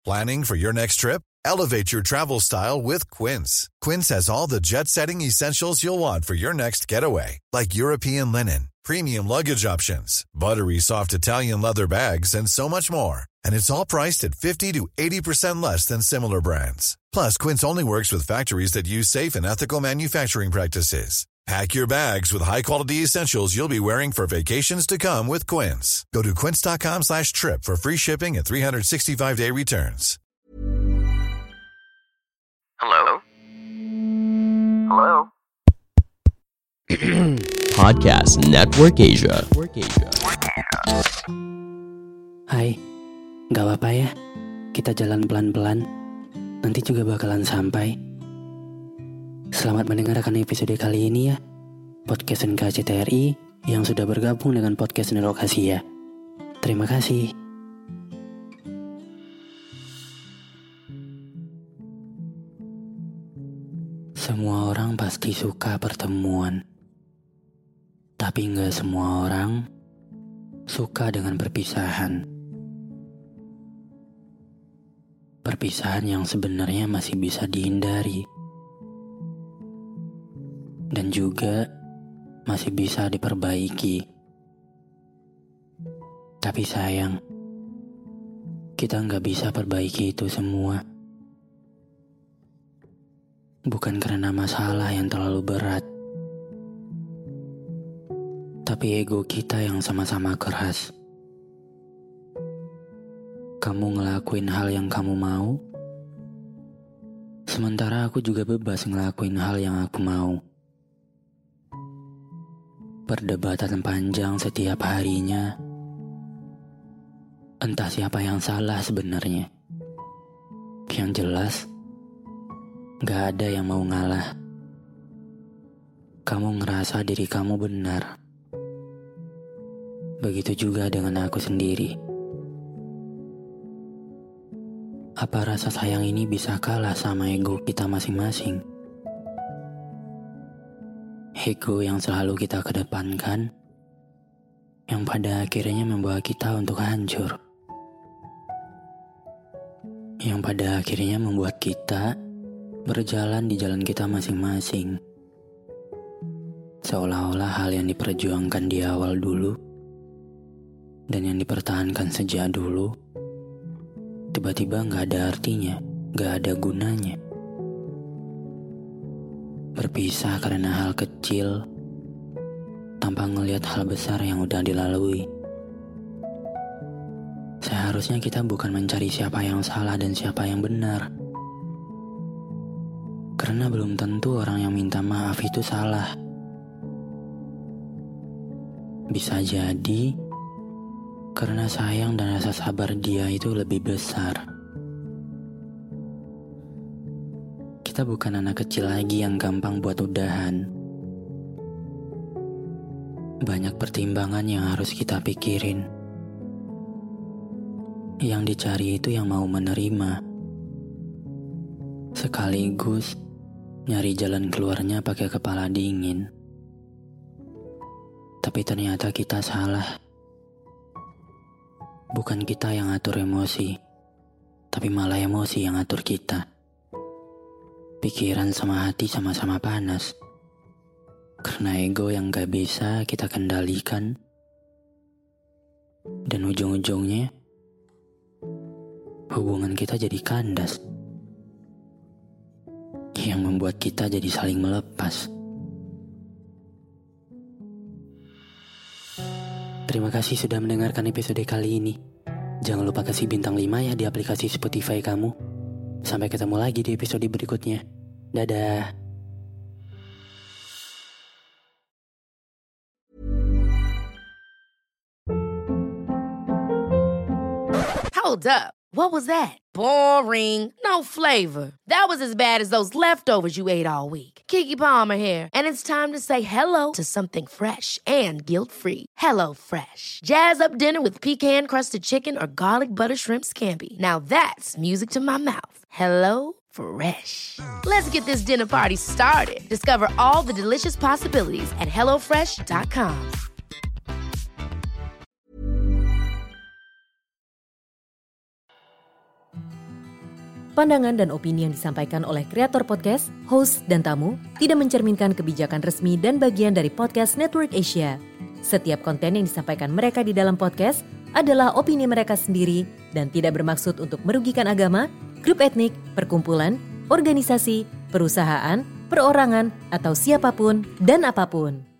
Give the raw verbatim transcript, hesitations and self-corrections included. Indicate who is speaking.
Speaker 1: Planning for your next trip? Elevate your travel style with Quince. Quince has all the jet-setting essentials you'll want for your next getaway, like European linen, premium luggage options, buttery soft Italian leather bags, and so much more. And it's all priced at fifty to eighty percent less than similar brands. Plus, Quince only works with factories that use safe and ethical manufacturing practices. Pack your bags with high-quality essentials you'll be wearing for vacations to come with Quince. Go to quince.com slash trip for free shipping and three sixty-five day returns.
Speaker 2: Hello? Hello?
Speaker 3: Podcast Network Asia.
Speaker 4: Hai, gak apa-apa ya, kita jalan pelan-pelan, nanti juga bakalan sampai. Selamat mendengarkan episode kali ini ya, Podcast N K C T R I yang sudah bergabung dengan Podcast Network Asia. Terima kasih. Semua orang pasti suka pertemuan, tapi gak semua orang suka dengan perpisahan. Perpisahan yang sebenarnya masih bisa dihindari dan juga masih bisa diperbaiki. Tapi sayang, kita nggak bisa perbaiki itu semua. Bukan karena masalah yang terlalu berat, tapi ego kita yang sama-sama keras. Kamu ngelakuin hal yang kamu mau, sementara aku juga bebas ngelakuin hal yang aku mau. Perdebatan panjang setiap harinya. Entah siapa yang salah sebenarnya. Yang jelas, gak ada yang mau ngalah. Kamu ngerasa diri kamu benar. Begitu juga dengan aku sendiri. Apa rasa sayang ini bisa kalah sama ego kita masing-masing? Ego yang selalu kita kedepankan, yang pada akhirnya membawa kita untuk hancur. Yang pada akhirnya membuat kita berjalan di jalan kita masing-masing. Seolah-olah hal yang diperjuangkan di awal dulu dan yang dipertahankan sejak dulu tiba-tiba gak ada artinya, gak ada gunanya. Berpisah karena hal kecil tanpa ngelihat hal besar yang udah dilalui. Seharusnya kita bukan mencari siapa yang salah dan siapa yang benar, karena belum tentu orang yang minta maaf itu salah. Bisa jadi karena sayang dan rasa sabar dia itu lebih besar. Kita bukan anak kecil lagi yang gampang buat udahan. Banyak pertimbangan yang harus kita pikirin. Yang dicari itu yang mau menerima. Sekaligus nyari jalan keluarnya pakai kepala dingin. Tapi ternyata kita salah. Bukan kita yang atur emosi, tapi malah emosi yang atur kita. Pikiran sama hati sama-sama panas. Karena ego yang gak bisa kita kendalikan. Dan ujung-ujungnya, hubungan kita jadi kandas. Yang membuat kita jadi saling melepas. Terima kasih sudah mendengarkan episode kali ini. Jangan lupa kasih bintang lima ya di aplikasi Spotify kamu. Sampai ketemu lagi di episode berikutnya. Dadah.
Speaker 5: Hold up. What was that? Boring. No flavor. That was as bad as those leftovers you ate all week. Keke Palmer here, and it's time to say hello to something fresh and guilt-free. Hello Fresh. Jazz up dinner with pecan-crusted chicken or garlic butter shrimp scampi. Now that's music to my mouth. Hello Fresh. Let's get this dinner party started. Discover all the delicious possibilities at hello fresh dot com.
Speaker 6: Pandangan dan opini yang disampaikan oleh kreator podcast, host, dan tamu tidak mencerminkan kebijakan resmi dan bagian dari Podcast Network Asia. Setiap konten yang disampaikan mereka di dalam podcast adalah opini mereka sendiri dan tidak bermaksud untuk merugikan agama, grup etnik, perkumpulan, organisasi, perusahaan, perorangan, atau siapapun dan apapun.